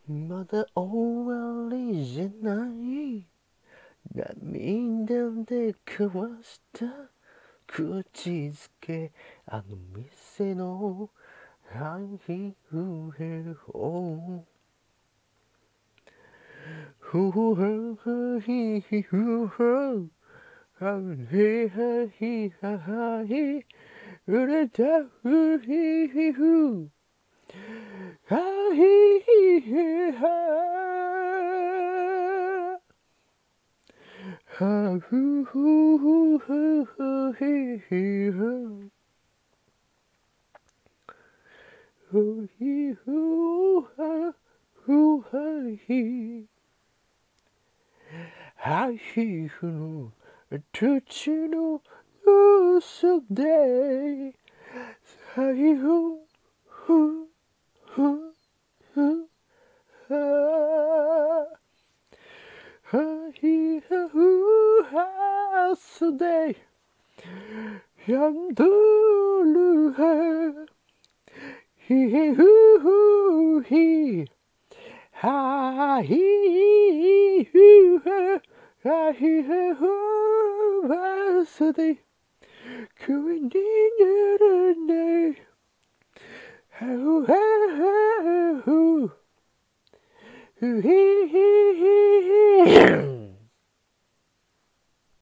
まだ終わりじゃない涙で交わした口づけあの店のハイフヘホフフフフヒヒフフハヒハヒハハヒ売れたフヒヒフハヒヒヒハハフフフフフヒヒフフヒフハフハヒハヒフの土の嘘でハヒフフフフハハヒハフハスでやんどるはヒヒフフヒハヒフハハヒハフハスで恋にならないハフハフフヒヒヒヒ